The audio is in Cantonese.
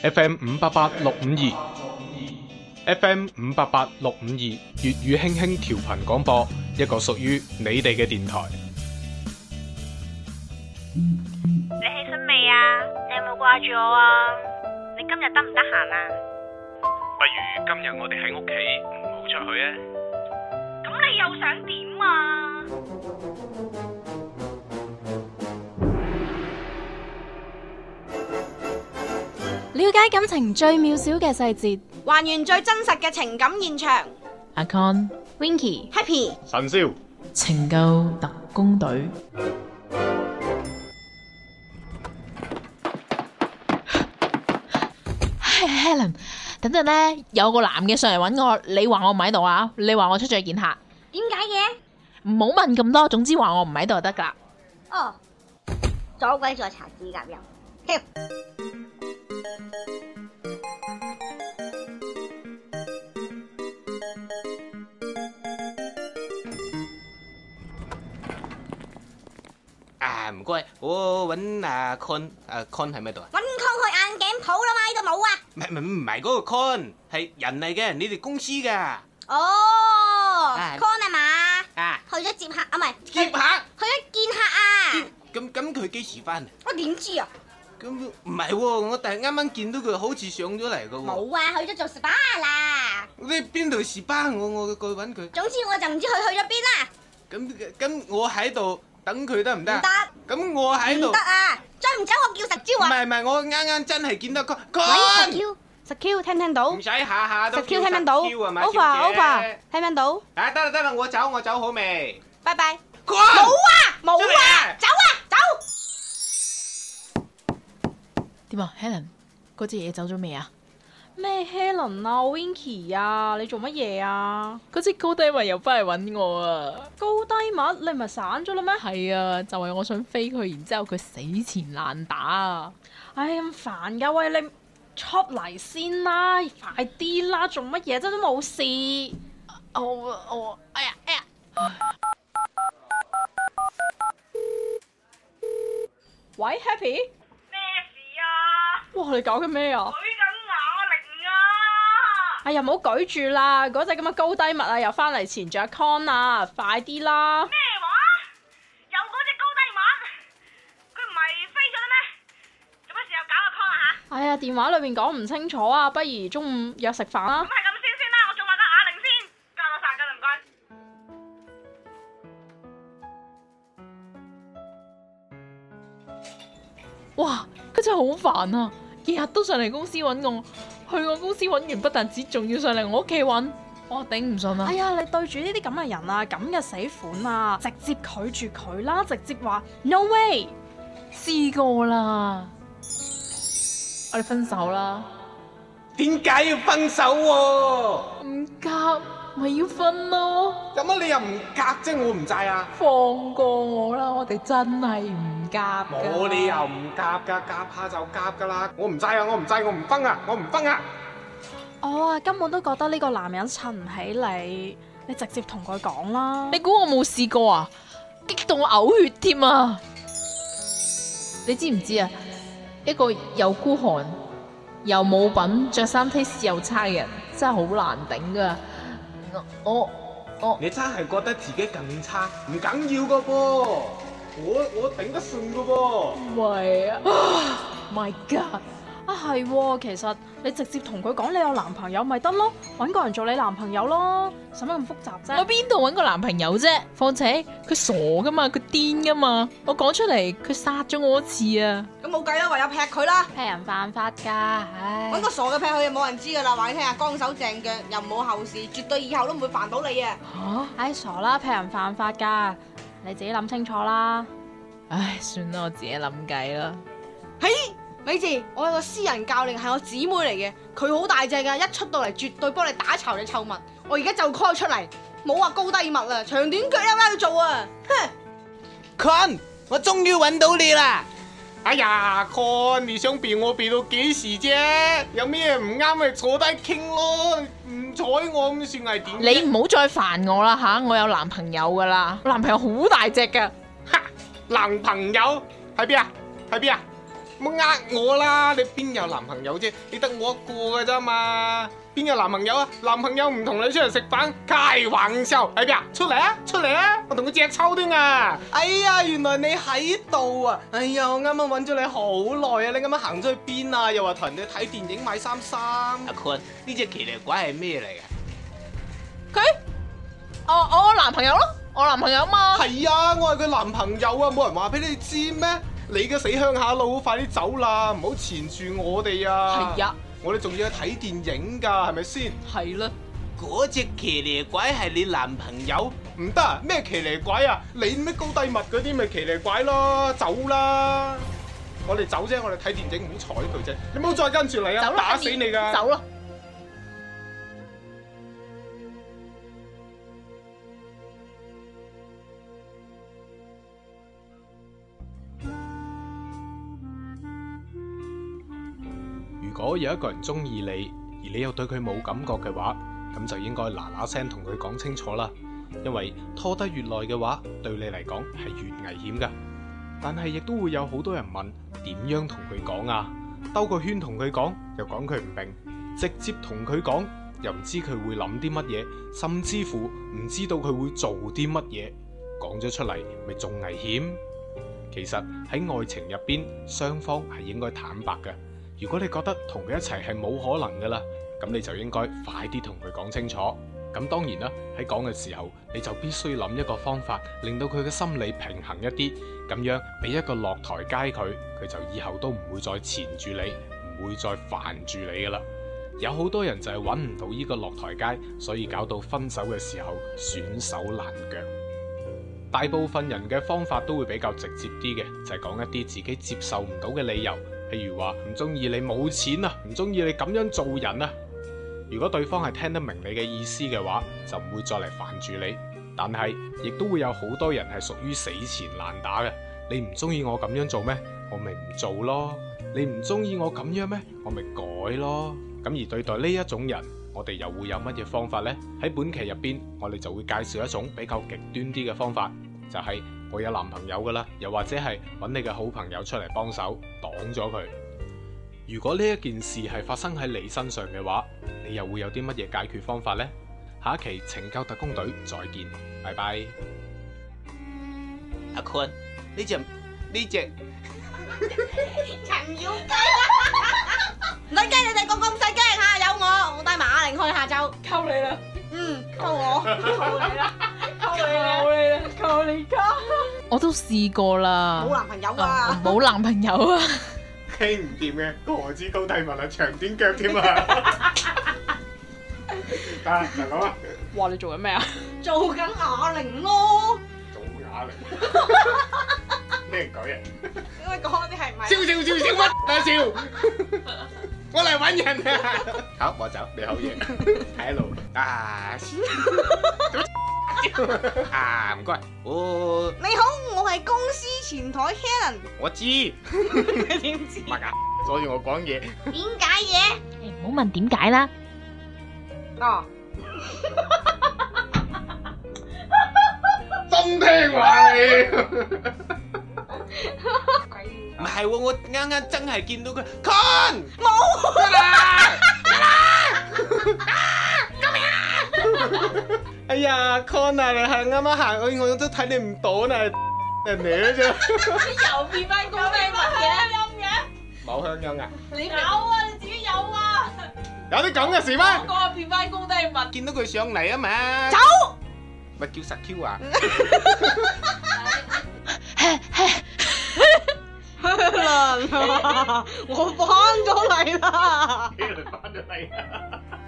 FM 588-652，FM 588-652粵語輕輕調頻廣播，一個屬於你哋嘅電台。 你起身未啊？你有冇掛住我啊？你今日得唔得閒啊？ 不如今日我哋喺屋企，唔好出去啊！ 咁你又想點啊？ 了解感情最渺小嘅細節， 還原最真實嘅情感現場。 阿 Con Winky Happy 神少情救特工隊。Helen， 等陣呢，有個男嘅上嚟揾我，你話我唔喺度啊？你話我出咗去見客？ 點解嘅？ 唔好問咁多，總之話我唔喺度就得噶啦。 哦，左鬼再搽指甲油。 唔該，我揾阿 Con， Con 喺咪度啊？ 揾 Con 去眼鏡鋪啦嘛，呢度冇啊。 唔係嗰個 Con， 係人嚟嘅，你哋公司噶。 哦 ，Con 係嘛？ 啊， 去咗接客啊，唔係接客， 去咗見客啊。 咁佢幾時翻啊？ 我點知啊？ 咁唔係喎，我但係啱啱見到佢好似上咗嚟噶喎。 冇啊，去咗做 SPA 啦。 你邊度SPA？我過去揾佢。 總之我就唔知佢去咗邊啦。 咁我喺度等佢得唔得？ 唔得。 咁我喺度。 唔得啊！再唔走我叫實招啊！ 唔係，我啱真係見到 Con。 喂，實 Q 聽唔聽到？ 唔使下下都實 Q 聽唔聽到 ？Over 聽唔聽到？ 啊，得啦，我走好未？ 拜拜。 Con 冇啊！走啊！走！ 點啊 ，Helen， 嗰隻嘢走咗未啊？ 咩 Helen 啊 ，Winky 啊，你做乜嘢啊？ 嗰隻高低物又翻嚟揾我啊！ 高低物，你唔係散咗啦咩？ 係啊，就係我想飛佢，然之後佢死纏爛打啊！ 唉，咁煩噶，喂，你出嚟先啦，快啲啦，做乜嘢？真都冇事。 哎呀！ 喂 ，Happy， 咩事啊？ 哇，你搞緊咩啊？ 舉緊啞鈴啊！ 哎呀，唔好舉住啦，嗰隻咁嘅高低物啊，又翻嚟纏住阿 Con 啊，快啲啦！ 咩話？有嗰隻高低物？佢唔係飛咗啦咩？做乜事又搞阿 Con 啊吓？ 哎呀，電話裏面講唔清楚啊，不如中午約食飯啦咁。係咁先啦，我仲話個啞鈴先，加多晒㗎啦，唔該。 哇，佢真係好煩啊！日日都上嚟公司揾我，去我公司揾完不但止，仲要上嚟我屋企揾，我頂唔順啊！ 哎呀，你對住呢啲咁嘅人啊，咁嘅死款啊，直接拒絕佢啦，直接話 no way。 試過啦，我哋分手啦。 點解要分手喎？ 唔夾咪要分咯， 有乜你又唔夾啫？我唔制啊！ 放過我啦，我哋真係唔夾㗎。 冇理由唔夾噶，夾下就夾噶啦！我唔制啊！我唔制，我唔分啊！我唔分啊！ 我啊根本都覺得呢個男人襯唔起你，你直接同佢講啦。 你估我冇試過啊？激到我嘔血添啊！你知唔知啊？一個又孤寒又冇品、着衫 taste 又差嘅人，真係好難頂噶。我你真係覺得自己咁差，唔緊要噶噃，我頂得順噶噃。 喂啊 ！My God！ 啊係喎，其實你直接同佢講你有男朋友咪得咯，揾個人做你男朋友咯，使乜咁複雜啫？ 我邊度揾個男朋友啫？況且佢傻噶嘛，佢癲噶嘛，我講出嚟佢殺咗我一次啊！ 咁冇計啦，唯有劈佢啦。 劈人犯法㗎，唉！ 揾個傻嘅劈佢，冇人知噶啦，話你聽下，乾手淨腳又冇後事，絕對以後都唔會煩到你啊！ 嚇！ 唉，傻啦，劈人犯法㗎，你自己諗清楚啦。 唉，算啦，我自己諗計啦。 嘿，咪住，我有個私人教練係我姊妹嚟嘅，佢好大隻噶，一出到嚟絕對幫你打巢你臭襪。我而家就 call 出嚟，冇話高低襪啦，長短腳有啱要做啊！哼 Con， 我終於揾到你啦！哎呀 ，Con， 你想避我避到幾時啫？有咩唔啱咪坐低傾咯，唔睬我咁算係點？ 你唔好再煩我啦吓，我有男朋友噶啦，我男朋友好大隻噶。 哈，男朋友喺邊啊？喺邊啊？ 唔好呃我啦！你邊有男朋友啫？你得我一個㗎咋嘛？邊有男朋友啊？男朋友唔同你出嚟食飯，開玩笑喺邊啊？出嚟啊！出嚟啊！我同佢隻抽添啊！ 哎呀，原來你喺度啊！哎呀，我啱啱揾咗你好耐啊！你啱啱行咗去邊啊？又話同人哋睇電影買衫。 阿坤，呢隻奇離怪係咩嚟㗎？ 佢，我男朋友咯，我男朋友嘛。 係啊，我係佢男朋友啊！冇人話俾你知咩？你嘅死鄉下佬，快啲走啦！唔好纏住我哋啊！ 係啊， 我哋仲要去睇電影㗎，係咪先？ 係啦。 嗰隻奇離怪係你男朋友？ 唔得啊！咩奇離怪啊？你咩高低密嗰啲咪奇離怪咯？走啦！我哋走啫，我哋睇電影，唔好睬佢啫。你唔好再跟住嚟啊！ 走啦， 打死你㗎！ 走啦！ 如果有一個人中意你，而你又對佢冇感覺嘅話，咁就應該嗱嗱聲同佢講清楚啦。因為拖得越耐嘅話，對你嚟講係越危險噶。但係亦都會有好多人問，點樣同佢講啊？兜個圈同佢講，又講佢唔明；直接同佢講，又唔知佢會諗啲乜嘢，甚至乎唔知道佢會做啲乜嘢。講咗出嚟，咪仲危險？其實喺愛情入邊，雙方係應該坦白嘅。如果你覺得同佢一齊係冇可能噶啦，咁你就應該快啲同佢講清楚。咁當然啦，喺講嘅時候，你就必須諗一個方法，令到佢嘅心理平衡一啲，咁樣俾一個落台階佢，佢就以後都唔會再纏住你，唔會再煩住你噶啦。有好多人就係揾唔到呢個落台階，所以搞到分手嘅時候損手爛腳。大部分人嘅方法都會比較直接啲嘅，就係講一啲自己接受唔到嘅理由。譬如話唔中意你冇錢啊，唔中意你咁樣做人啊。如果對方係聽得明你嘅意思嘅話，就唔會再嚟煩住你。但係亦都會有好多人係屬於死纏爛打嘅。你唔中意我咁樣做咩？我咪唔做咯。你唔中意我咁樣咩？我咪改咯。咁而對待呢一種人，我哋又會有乜嘢方法呢？喺本期入邊，我哋就會介紹一種比較極端啲嘅方法，就係我有男朋友噶啦，又或者係揾你嘅好朋友出嚟幫手擋咗佢。如果呢一件事係發生喺你身上嘅話，你又會有啲乜嘢解決方法呢？下一期拯救特工隊再見，拜拜。 阿坤，呢隻陳耀基唔使驚，你哋個個唔使驚嚇，有我帶埋阿玲去下晝。 溝你啦， 溝我， 溝你啦，溝你家。我都試過啦， 冇男朋友啊， 冇男朋友啊。 傾唔掂嘅，何止高低紋啊，長短腳添啊！大佬啊！ 哇！你做緊咩啊？ 做緊啞鈴咯。 做啞鈴？咩人講嘢？ 因為講嗰啲係唔係？ 笑乜啊笑！我嚟揾人啊！好，我走，你好嘢，睇一路啊！啊，唔該。哦， 你好，我係公司前台 Helen。 我知。 你點知？ 麥啊，所以我講嘢。 點解嘅？ 唔好問點解啦。 哦。 真聽話你。唔係喎，我啱啱真係見到佢 Con 冇得啦， 哎呀 ，Con 啊，你係啱啱行，我都睇你唔到啦，人嚟嘅啫。 又變翻高低紋嘅， 冇香音啊？ 你有啊，你自己有啊。 有啲咁嘅事咩？ 我講變翻高低紋。 見到佢上嚟啊嘛。 走。 咪叫實 Q 啊！ 我翻咗嚟啦！ 翻咗嚟啊！